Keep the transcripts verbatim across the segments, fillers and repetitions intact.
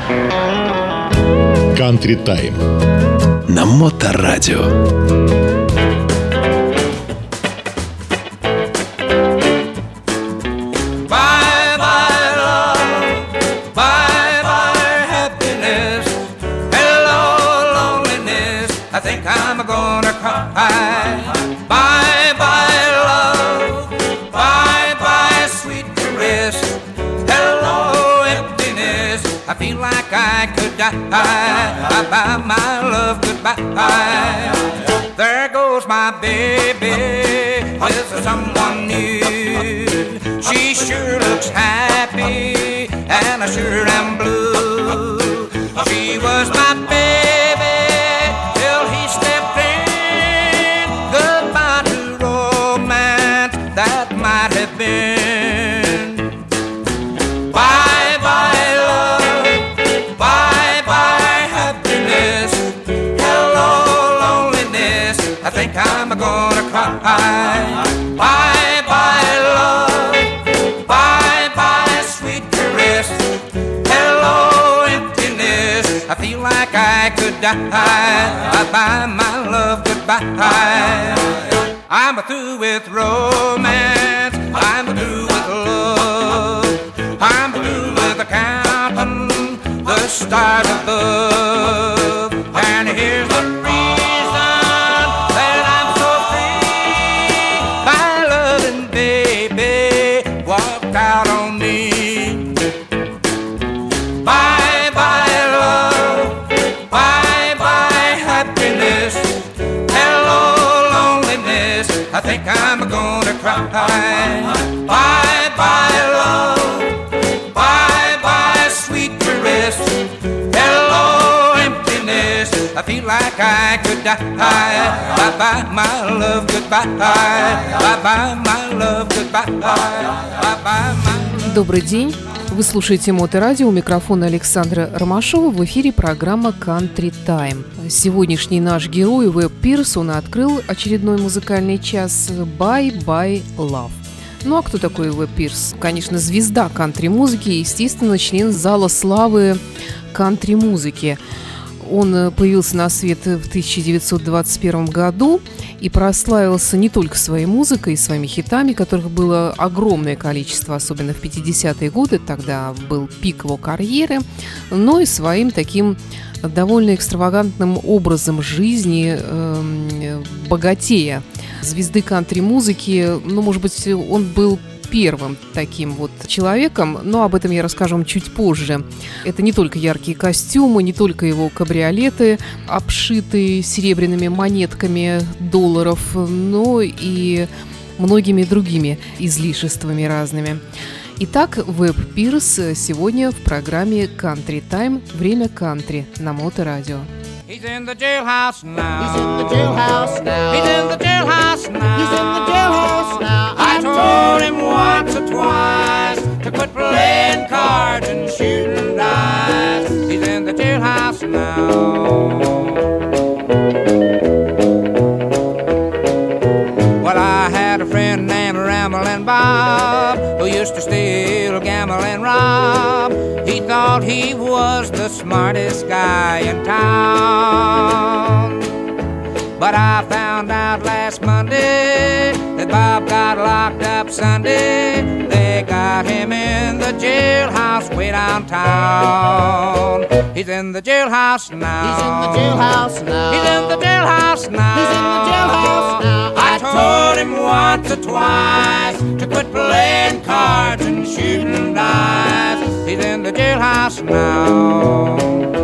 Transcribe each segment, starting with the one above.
Country Time на Моторадио. Bye-bye, my love, goodbye. There goes my baby with someone new. She sure looks happy, and I sure am blue. She was my baby till he stepped in. Goodbye to romance that might have been. I'm gonna cry. Bye bye love, bye bye sweet caress. Hello emptiness, I feel like I could die. Bye bye my love, goodbye. I'm through with romance, I'm through with love, I'm through with counting the stars above. And here's the out on me. Bye bye love, bye bye happiness. Hello loneliness, I think I'm gonna cry. Bye bye love, bye bye sweet caress. Hello emptiness, I feel like I could die. Bye bye my love, goodbye. Bye bye my love, goodbye. Bye bye my. Добрый день. Вы слушаете Моторадио. У микрофона Александра Ромашова. В эфире программа Country Time. Сегодняшний наш герой Уэб Пирс, он открыл очередной музыкальный час Bye Bye Love. Ну а кто такой Уэб Пирс? Конечно, звезда кантри-музыки и, естественно, член зала славы кантри-музыки. Он появился на свет в тысяча девятьсот двадцать первом году и прославился не только своей музыкой и своими хитами, которых было огромное количество, особенно в пятидесятые годы, тогда был пик его карьеры, но и своим таким довольно экстравагантным образом жизни, э, богатея. Звезды кантри-музыки, ну, может быть, он был первым таким вот человеком, но об этом я расскажу вам чуть позже. Это не только яркие костюмы, не только его кабриолеты, обшитые серебряными монетками долларов, но и многими другими излишествами разными. Итак, Уэб Пирс сегодня в программе Country Time. Время кантри на Моторадио. He's in the jailhouse now. He's in the jailhouse now. He's in the jailhouse now. He's in the jailhouse now. I told him once or twice to quit playing cards and shooting dice. He's in the jailhouse now. Well, I had a friend named Ramblin' Bob who used to steal, gamble, and rob. He thought he was the smartest guy in town. But I found out last Monday that Bob got locked up Sunday. They got him in the jailhouse way downtown. He's in the jailhouse now. He's in the jailhouse now. He's in the jailhouse now. He's in the jailhouse now. I told him once or twice to quit playing cards and shooting dice. He's in the jailhouse now.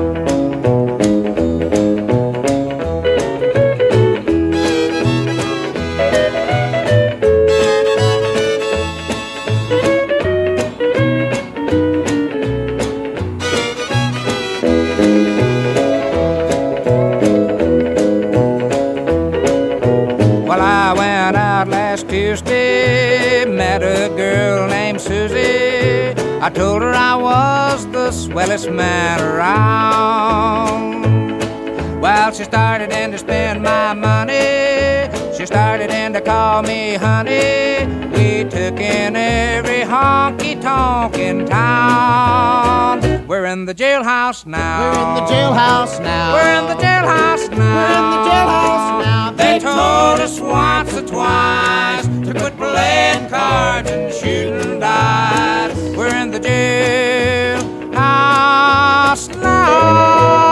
Tuesday, met a girl named Susie. I told her I was the swellest man around. Well, she started in to spend my money. She She started in to call me honey. We took in every honky-tonk in town. We're in the jailhouse now. We're in the jailhouse now. We're in the jailhouse now. We're in the jailhouse now. They told us once or twice to quit playing cards and shooting dice. We're in the jailhouse now.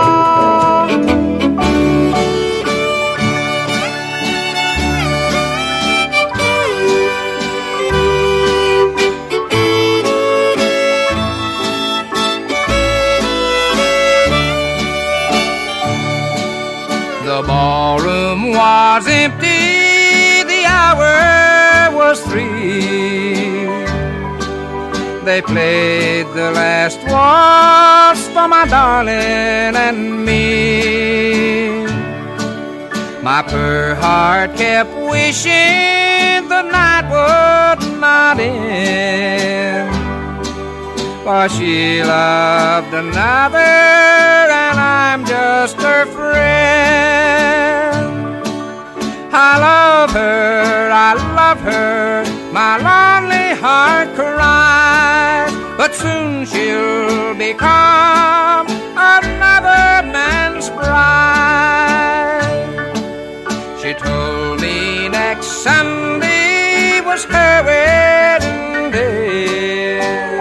The ballroom was empty, the hour was three. They played the last waltz for my darling and me. My poor heart kept wishing the night would not end, for she loved another and I'm just her friend. I love her, I love her, my lonely heart cries, but soon she'll become another man's bride. She told me next Sunday was her wedding day.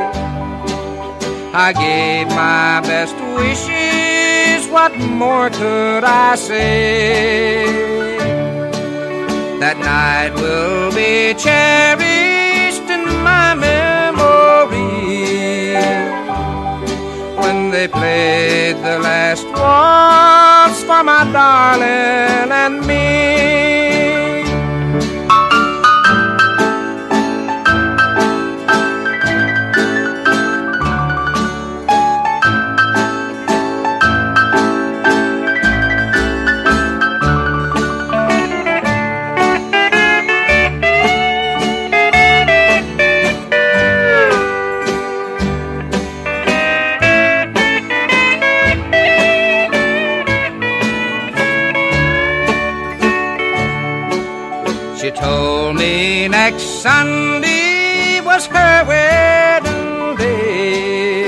I gave my best wishes, what more could I say? That night will be cherished in my memory, when they played the last waltz for my darling and me. Told me next Sunday was her wedding day.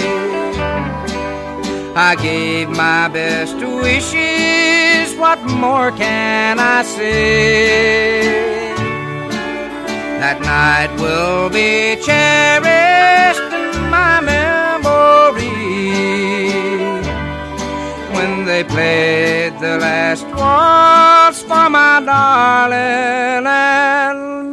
I gave my best wishes, what more can I say? That night will be cherished in my memory, when they played the last waltz for my darling and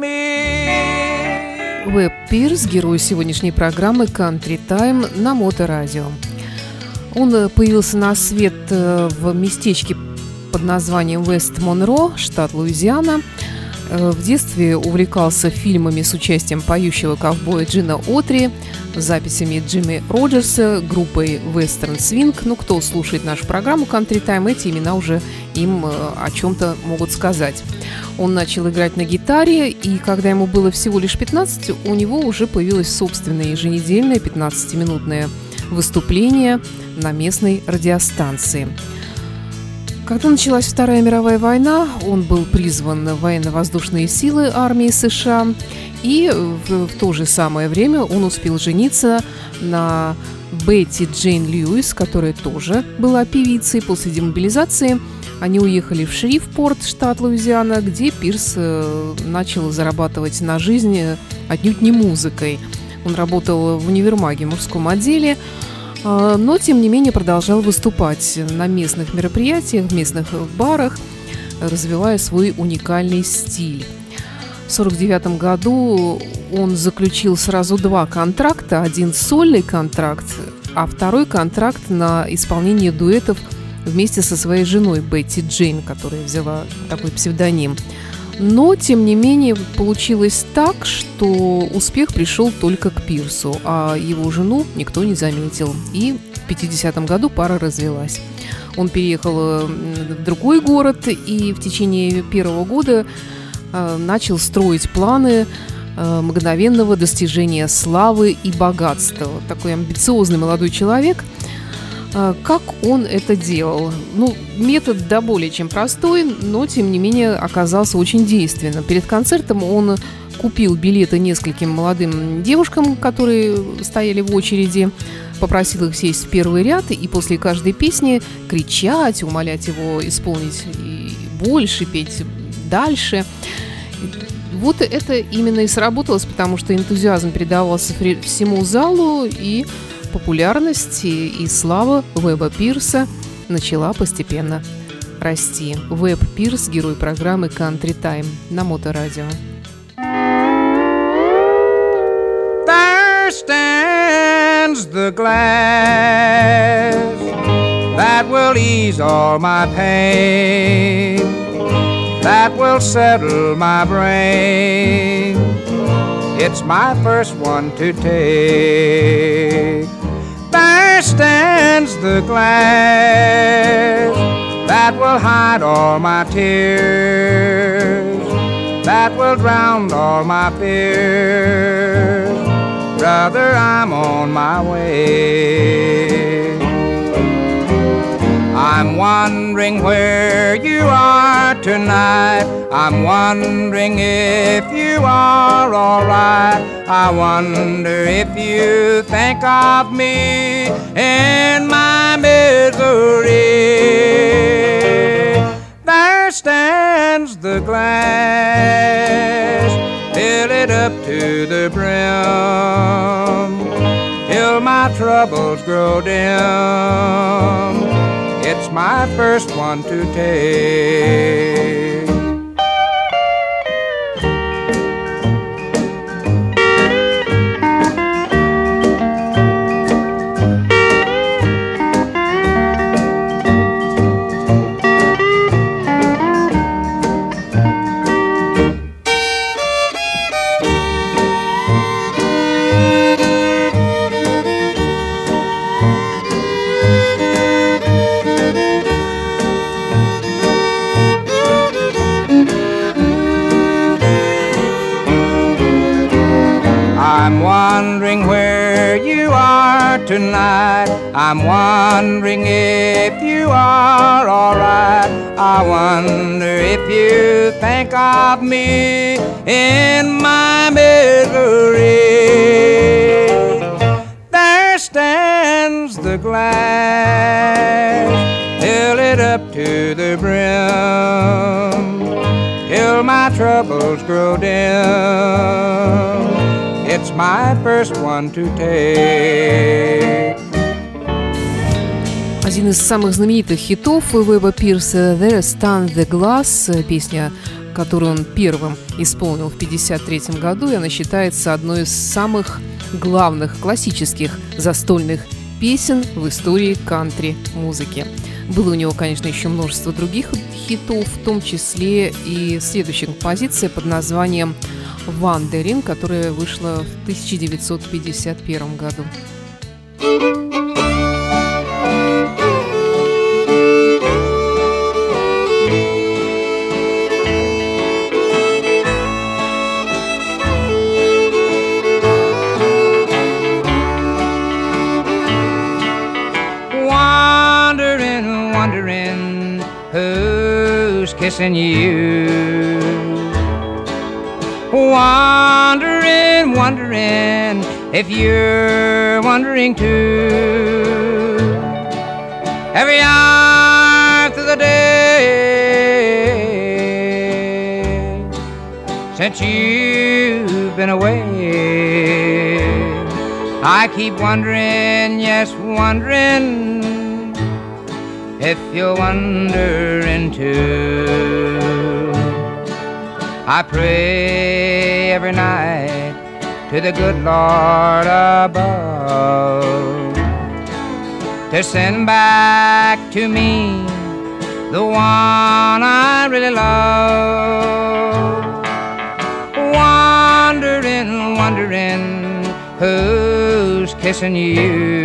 me. Уэб Пирс, герой сегодняшней программы Country Time на Моторадио. Он появился на свет в местечке под названием Вест Монро, штат Луизиана. В детстве увлекался фильмами с участием поющего ковбоя Джина Отри, записями Джимми Роджерса, группой Western Swing. Ну, кто слушает нашу программу Country Time, эти имена уже им о чем-то могут сказать. Он начал играть на гитаре, и когда ему было всего лишь пятнадцать, у него уже появилось собственное еженедельное пятнадцатиминутное выступление на местной радиостанции. Когда началась Вторая мировая война, он был призван в военно-воздушные силы армии США, и в, в то же самое время он успел жениться на Бетти Джейн Льюис, которая тоже была певицей. После демобилизации они уехали в Шрифпорт, штат Луизиана, где Пирс начал зарабатывать на жизнь отнюдь не музыкой. Он работал в универмаге, мужском отделе, но, тем не менее, продолжал выступать на местных мероприятиях, в местных барах, развивая свой уникальный стиль. В сорок девятом году он заключил сразу два контракта. Один сольный контракт, а второй контракт на исполнение дуэтов вместе со своей женой Бетти Джейн, которая взяла такой псевдоним. Но, тем не менее, получилось так, что успех пришел только к Пирсу, а его жену никто не заметил. И в пятидесятом году пара развелась. Он переехал в другой город и в течение первого года начал строить планы мгновенного достижения славы и богатства. Такой амбициозный молодой человек. Как он это делал? Ну, метод да более чем простой, но, тем не менее, оказался очень действенным. Перед концертом он купил билеты нескольким молодым девушкам, которые стояли в очереди, попросил их сесть в первый ряд и после каждой песни кричать, умолять его исполнить и больше, петь дальше. Вот это именно и сработалось, потому что энтузиазм передавался всему залу, и популярность и слава Уэба Пирса начала постепенно расти. Уэб Пирс, герой программы Country Time на Моторадио. There stands the glass that will ease all my pain, that will settle my brain. It's my first one to take. There stands the glass that will hide all my tears, that will drown all my fears. Brother, I'm on my way. I'm wondering where you are tonight. I'm wondering if you are alright. I wonder if you think of me in my misery. There stands the glass, fill it up to the brim, till my troubles grow dim. It's my first one to take. Wondering where you are tonight. I'm wondering if you are alright. I wonder if you think of me in my misery. There stands the glass, fill it up to the brim, till my troubles grow dim. It's my first one to take. Один из самых знаменитых хитов Уэба Пирса «There Stands the Glass», песня, которую он первым исполнил в пятьдесят третьем году, и она считается одной из самых главных классических застольных песен в истории кантри-музыки. Было у него, конечно, еще множество других хитов, в том числе и следующая композиция под названием «Wandering», которая вышла в тысяча девятьсот пятьдесят первом году. Wondering, wondering who's kissing you. Wondering, wondering if you're wondering too. Every hour through the day since you've been away, I keep wondering, yes, wondering if you're wondering too. I pray every night to the good Lord above to send back to me the one I really love. Wondering, wondering who's kissing you.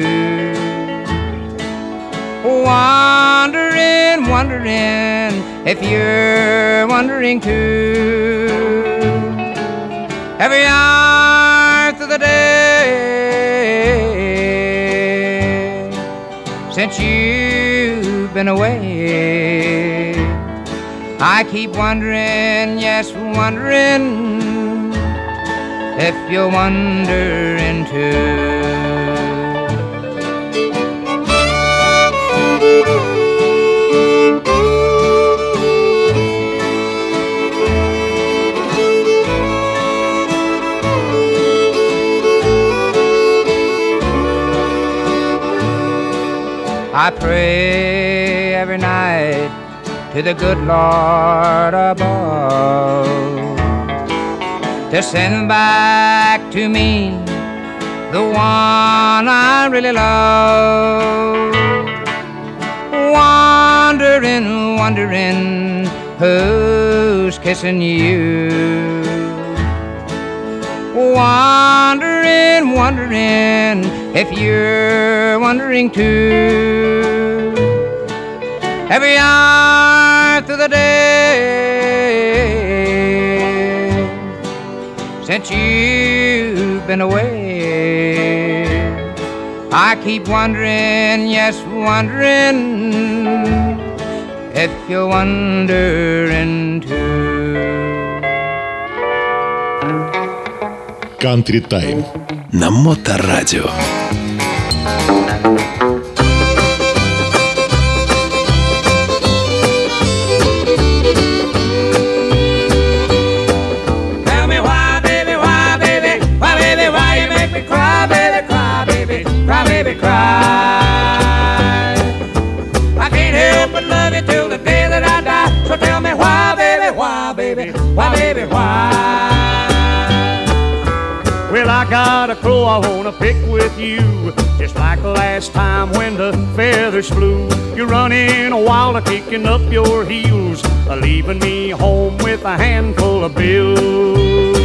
Wondering, wondering if you're wondering too. Every hour through the day since you've been away. I keep wondering, yes, wondering if you're wondering too. I pray every night to the good Lord above to send back to me the one I really love. Wondering, wondering who's kissing you. Wondering, wondering if you're wondering too. Every hour through the day since you've been away, I keep wondering, yes, wondering if you're wondering too. Country Time на Моторадио. Tell me why, baby, why, baby, why, baby, why you make me cry, baby, cry, baby, cry, baby, cry. I can't help but love you till the day that I die. So tell me why, baby, why, baby, why, baby, why. Well, I got a crow I wanna pick with you, just like last time when the feathers flew. You're running wild, kicking up your heels, leaving me home with a handful of bills.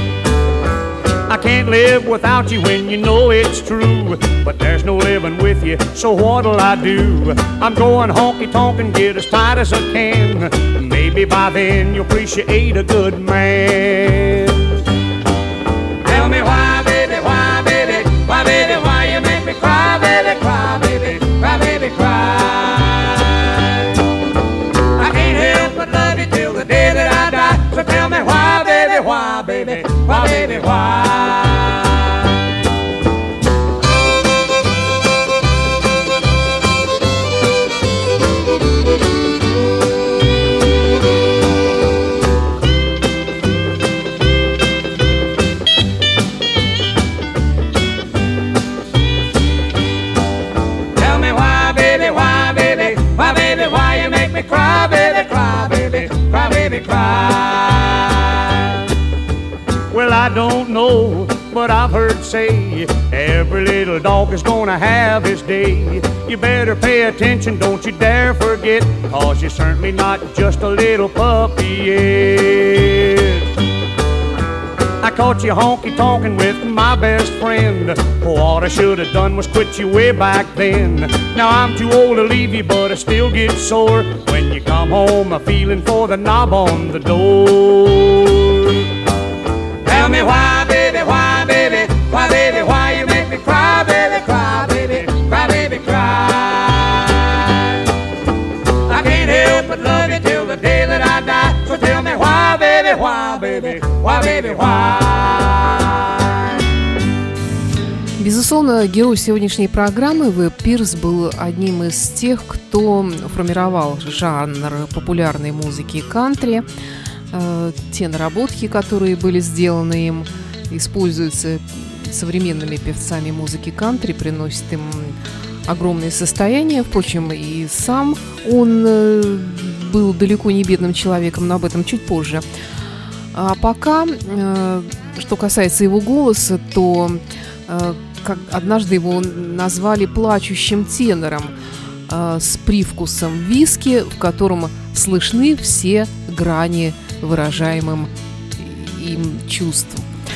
I can't live without you when you know it's true, but there's no living with you, so what'll I do? I'm going honky-tonk and get as tight as I can. Maybe by then you'll appreciate a good man. Tell me why, baby, why, baby, why, baby, why you make me cry, baby, cry, baby, cry, baby, cry. I can't help but love you till the day that I die. So tell me why, baby, why, baby, why, baby, why. Cry, baby, cry, baby, cry, baby, cry. Well, I don't know, but I've heard say every little dog is gonna have his day. You better pay attention, don't you dare forget, 'cause you're certainly not just a little puppy yet. I caught you honky-tonkin' with my best friend. What I should have done was quit you way back then. Now I'm too old to leave you, but I still get sore when you come home a feeling for the knob on the door. Tell me why, baby, why, baby, why, baby, why you make me cry, baby, cry, baby, cry, baby, cry. I can't help but love you till the day that I die. So tell me why, baby, why, baby, why, baby, why. Безусловно, герой сегодняшней программы Веб Пирс был одним из тех, кто формировал жанр популярной музыки кантри. Те наработки, которые были сделаны им, используются современными певцами музыки кантри, приносят им огромное состояние. Впрочем, и сам он был далеко не бедным человеком, но об этом чуть позже. А пока, что касается его голоса, то как однажды его назвали плачущим тенором э, с привкусом виски, в котором слышны все грани выражаемым им чувств.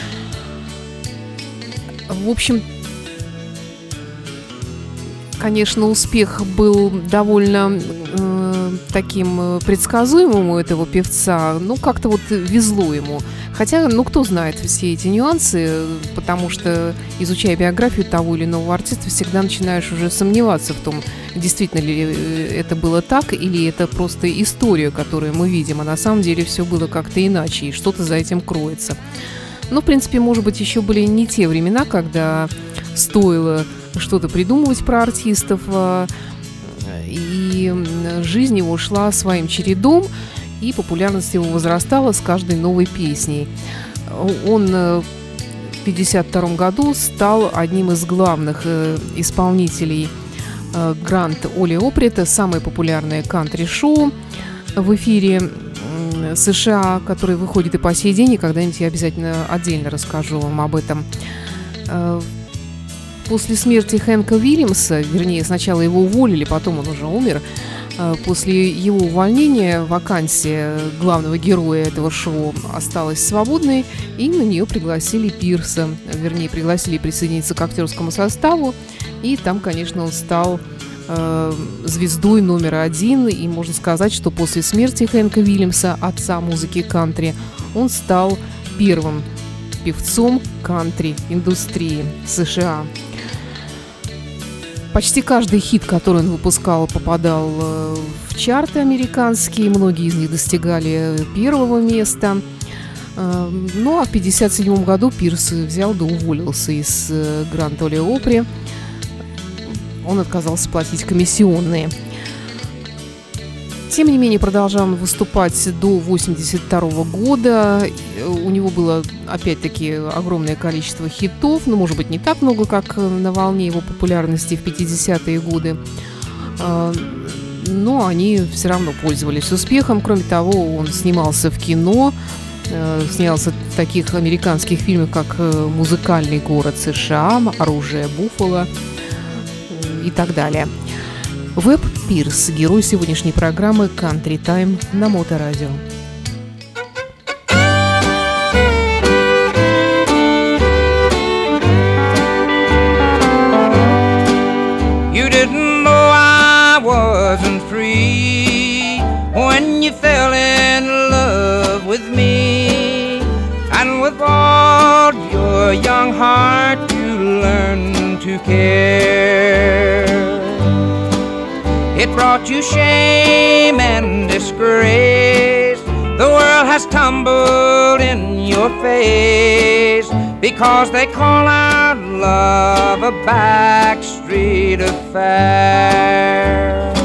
В общем, конечно, успех был довольно э, таким предсказуемым у этого певца, ну, как-то вот везло ему. Хотя, ну, кто знает все эти нюансы, потому что, изучая биографию того или иного артиста, всегда начинаешь уже сомневаться в том, действительно ли это было так, или это просто история, которую мы видим, а на самом деле все было как-то иначе, и что-то за этим кроется. Ну, в принципе, может быть, еще были не те времена, когда стоило что-то придумывать про артистов, и жизнь его шла своим чередом, и популярность его возрастала с каждой новой песней. Он в пятьдесят втором году стал одним из главных исполнителей Гранд Оле Опри, самое популярное кантри-шоу в эфире США, которое выходит и по сей день, и когда-нибудь я обязательно отдельно расскажу вам об этом. После смерти Хэнка Уильямса, вернее, сначала его уволили, потом он уже умер, после его увольнения вакансия главного героя этого шоу осталась свободной, и на нее пригласили Пирса, вернее, пригласили присоединиться к актерскому составу, и там, конечно, он стал э, звездой номер один, и можно сказать, что после смерти Хэнка Уильямса, отца музыки кантри, он стал первым певцом кантри-индустрии США. Почти каждый хит, который он выпускал, попадал в чарты американские, многие из них достигали первого места. Ну а в пятьдесят седьмом году Пирс взял да уволился из Гранд Оле Опри. Он отказался платить комиссионные. Тем не менее, продолжал выступать до восемьдесят второго года. У него было, опять-таки, огромное количество хитов, но, может быть, не так много, как на волне его популярности в пятидесятые годы. Но они все равно пользовались успехом. Кроме того, он снимался в кино, снялся в таких американских фильмах, как «Музыкальный город США», «Оружие Буффало» и так далее. Веб Пирс, герой сегодняшней программы Country Time на Моторадио. You didn't know I wasn't free when you fell in love with me, and with all your young heart you learned to care. It brought you shame and disgrace. The world has tumbled in your face because they call our love a backstreet affair.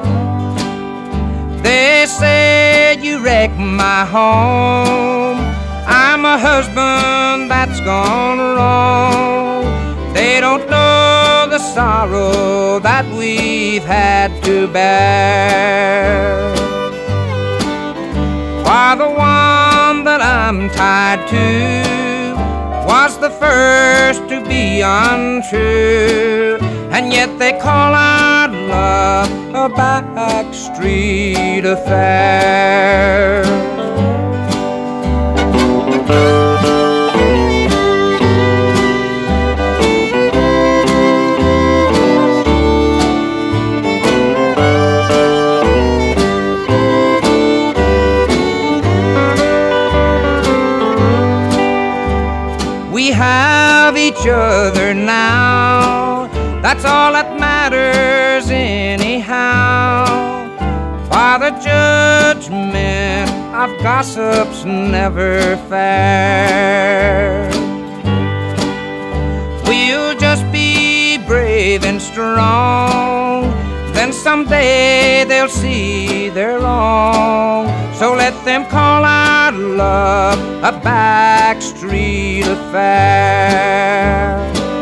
They say you wrecked my home. I'm a husband that's gone wrong. They don't know the sorrow that we've had to bear. Why, the one that I'm tied to was the first to be untrue, and yet they call our love a backstreet affair. We have each other now, that's all that matters anyhow. Why, the judgment of gossip's never fair. We'll just be brave and strong, then someday they'll see they're wrong. So let them call our love a backstreet affair.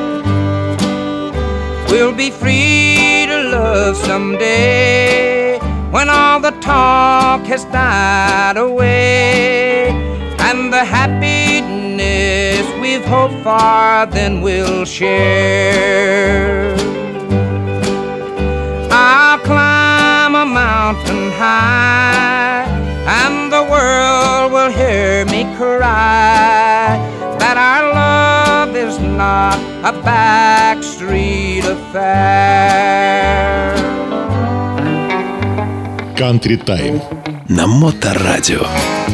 We'll be free to love someday when all the talk has died away, and the happiness we've hoped for then we'll share. I'll climb a mountain high, and the world will hear me cry that our love is not a backstreet affair. Country Time на Моторадио.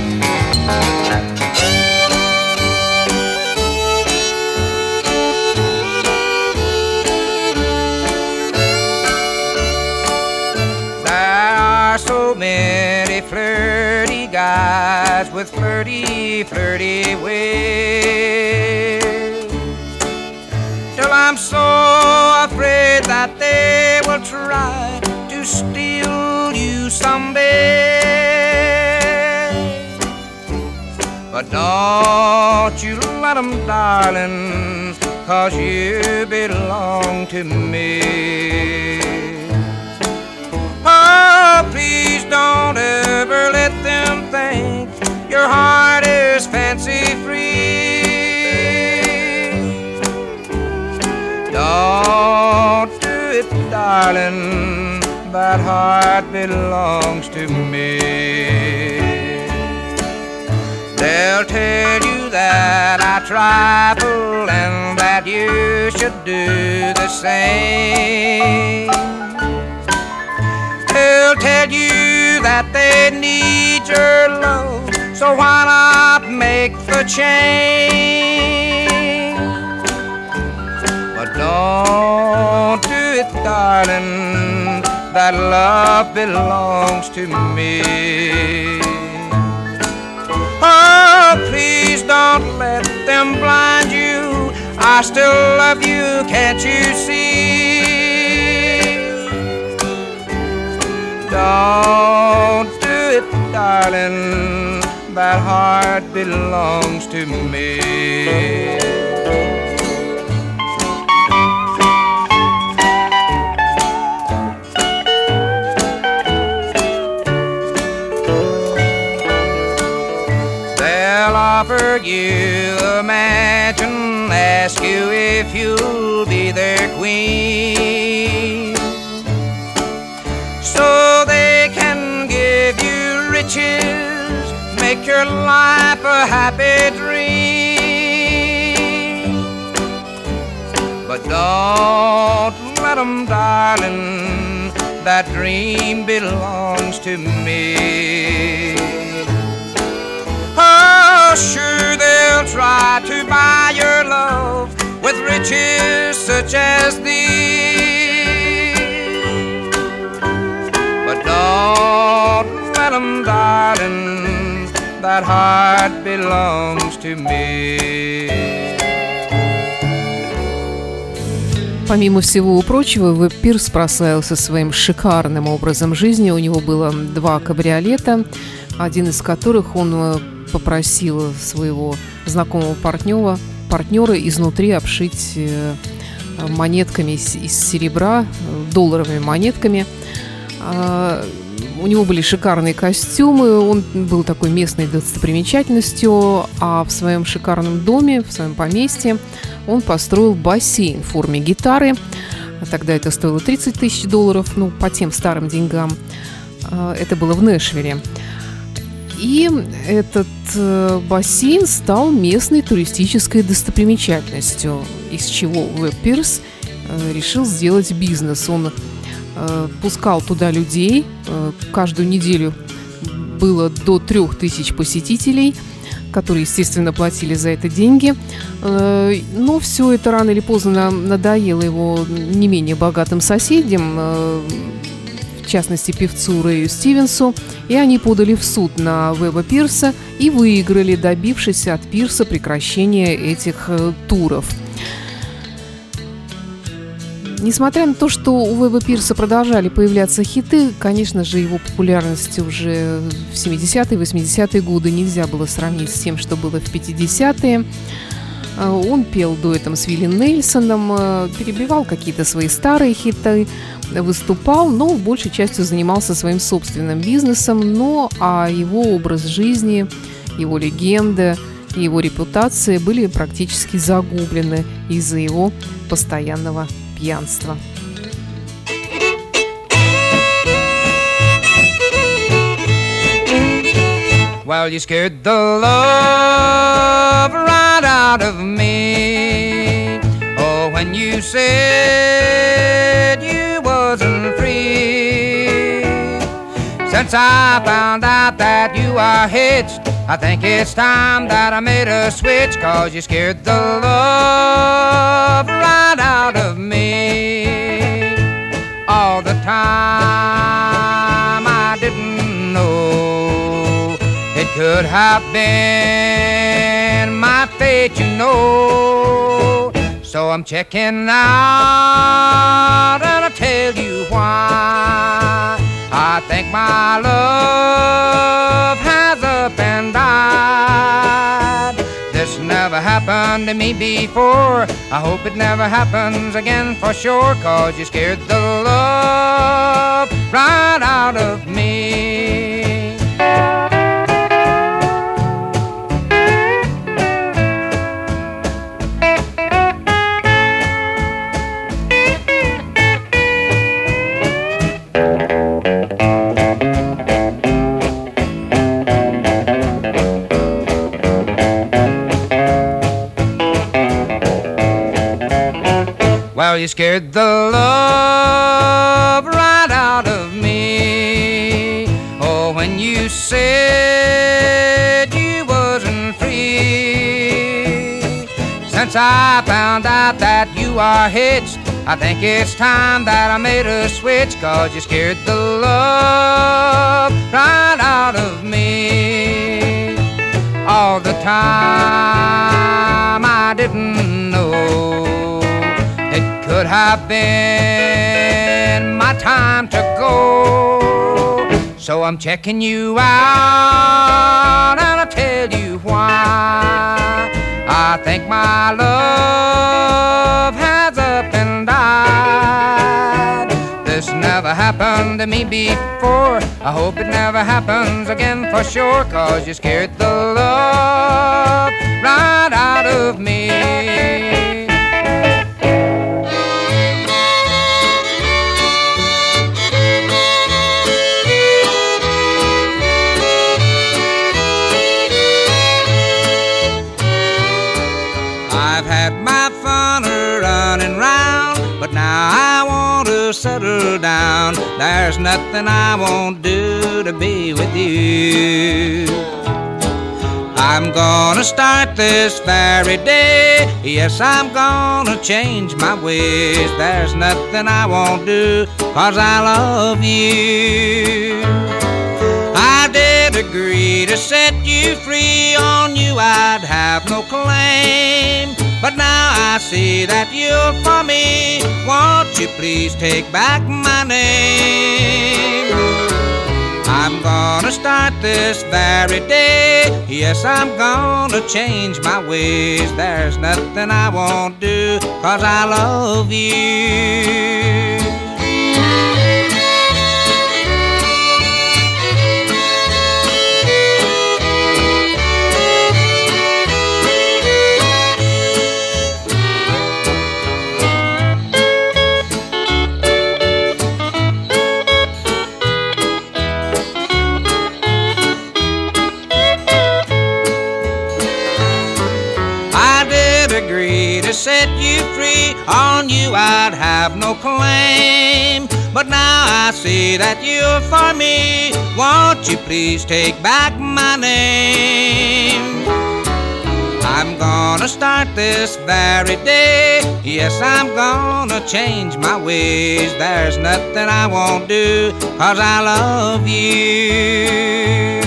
So many flirty guys with flirty, flirty ways, till I'm so afraid that they will try to steal you someday. But don't you let them, darling, 'cause you belong to me. Oh, please don't ever let them think your heart is fancy-free. Don't do it, darling, that heart belongs to me. They'll tell you that I trifle and that you should do the same. They'll tell you that they need your love, so why not make the change? But don't do it, darling, that love belongs to me. Oh, please don't let them blind you, I still love you, can't you see? Don't do it, darling, that heart belongs to me. They'll offer you a mansion, ask you if you'll be their queen, so they can give you riches, make your life a happy dream. But don't let them, darling, that dream belongs to me. Oh, sure, they'll try to buy your love with riches such as these, but don't let them, darling, that heart belongs to me. Помимо всего прочего, Уэбб Пирс прославился своим шикарным образом жизни. У него было два кабриолета, один из которых он попросил своего знакомого партнера, партнера изнутри обшить монетками из, из серебра, долларовыми монетками. У него были шикарные костюмы, он был такой местной достопримечательностью, а в своем шикарном доме, в своем поместье он построил бассейн в форме гитары. Тогда это стоило тридцать тысяч долларов, ну, по тем старым деньгам. Это было в Нэшвилле. И этот бассейн стал местной туристической достопримечательностью, из чего Уэбб Пирс решил сделать бизнес. Он пускал туда людей, каждую неделю было до трех тысяч посетителей, которые, естественно, платили за это деньги. Но все это рано или поздно надоело его не менее богатым соседям, в частности, певцу Рэю Стивенсу, и они подали в суд на Уэбба Пирса и выиграли, добившись от Пирса прекращения этих туров. Несмотря на то, что у Уэбба Пирса продолжали появляться хиты, конечно же, его популярность уже в семидесятые, восьмидесятые годы нельзя было сравнить с тем, что было в пятидесятые. Он пел дуэтом с Вилли Нельсоном, перебивал какие-то свои старые хиты, выступал, но большей частью занимался своим собственным бизнесом. Но а его образ жизни, его легенда и его репутация были практически загублены из-за его постоянного пьянства. Well, you scared the love right out of me. Oh, when you said you wasn't free, Since I found out that you are hitched, I think it's time that I made a switch, 'cause you scared the love right out of me. All the time I didn't know it could have been my fate, you know. So I'm checking out, and I'll tell you why. I think my love has up and died. This never happened to me before. I hope it never happens again for sure, 'cause you scared the love right out of me. Well, you scared the love right out of me. Oh, when you said you wasn't free. Since I found out that you are hitched, I think it's time that I made a switch, 'cause you scared the love right out of me. All the time I didn't know could have been my time to go. So I'm checking you out, and I'll tell you why. I think my love has up and died. This never happened to me before. I hope it never happens again for sure, 'cause you scared the love right out of me. But now I want to settle down. There's nothing I won't do to be with you. I'm gonna start this very day. Yes, I'm gonna change my ways. There's nothing I won't do, 'cause I love you. I did agree to set you free. On you I'd have no claim. But now I see that you're for me. Won't you please take back my name? I'm gonna start this very day. Yes, I'm gonna change my ways. There's nothing I won't do, 'cause I love you. Set you free. On you I'd have no claim. But now I see that you're for me. Won't you please take back my name? I'm gonna start this very day. Yes, I'm gonna change my ways. There's nothing I won't do, 'cause I love you.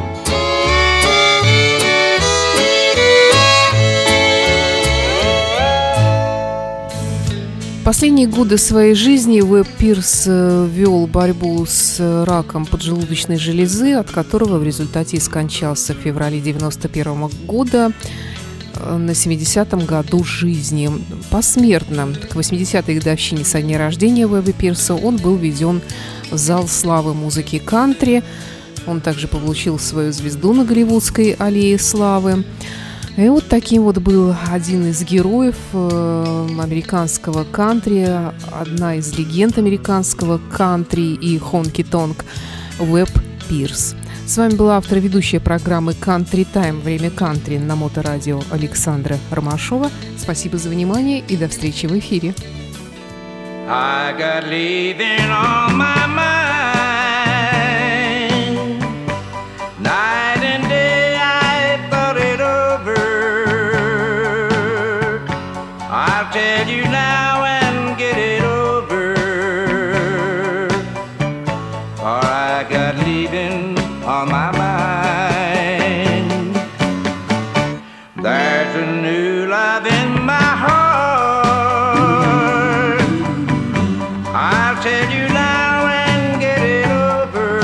Последние годы своей жизни Уэбб Пирс вел борьбу с раком поджелудочной железы, от которого в результате и скончался в феврале девяносто первого года на семидесятом году жизни. Посмертно к восьмидесятой годовщине со дня рождения Уэбба Пирса он был введен в зал славы музыки кантри. Он также получил свою звезду на Голливудской аллее славы. И вот таким вот был один из героев э, американского кантри, одна из легенд американского кантри и хонки-тонк Уэбб Пирс. С вами была автор и ведущая программы «Country Time. Время кантри» на Моторадио Александра Ромашова. Спасибо за внимание и до встречи в эфире. I got leaving on my mind. on my mind. There's a new love in my heart. I'll tell you now and get it over.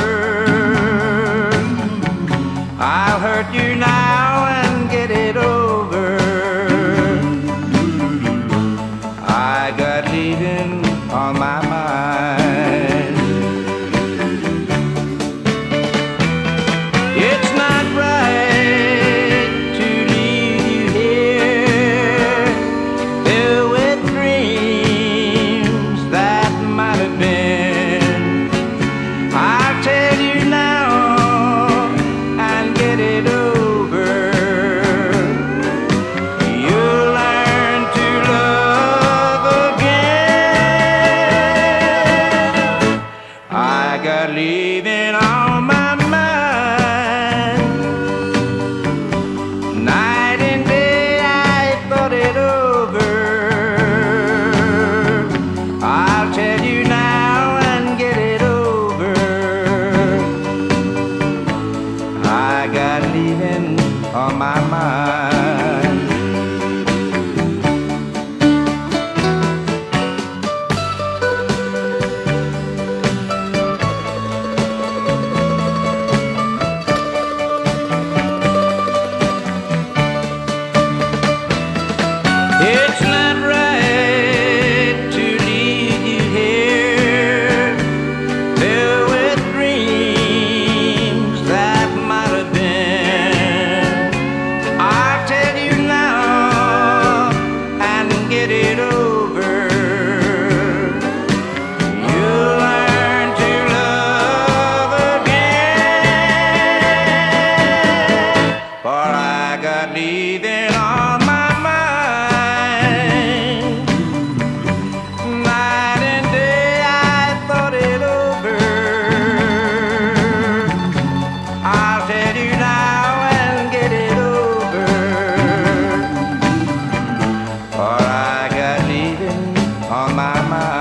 I'll hurt you now and get it over. I got leaving on my mind. It's not right to leave you here, filled with dreams that might have been. I'll tell you now and get it over. You'll learn to love again. I got leaving on my mind. Night and day I thought it over. I'll tell you now and get it over. I got leaving on my mind. It's not right to leave you here, filled with dreams that might have been. I'll tell you now and get it over. You'll learn to love again. For I got leaving on my mind. Night and day I thought it over. I'll tell you now and get it over. For I got leaving on my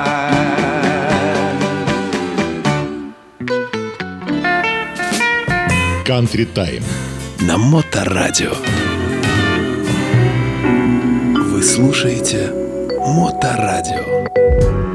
mind. Country Time. На Моторадио. Вы слушаете Моторадио.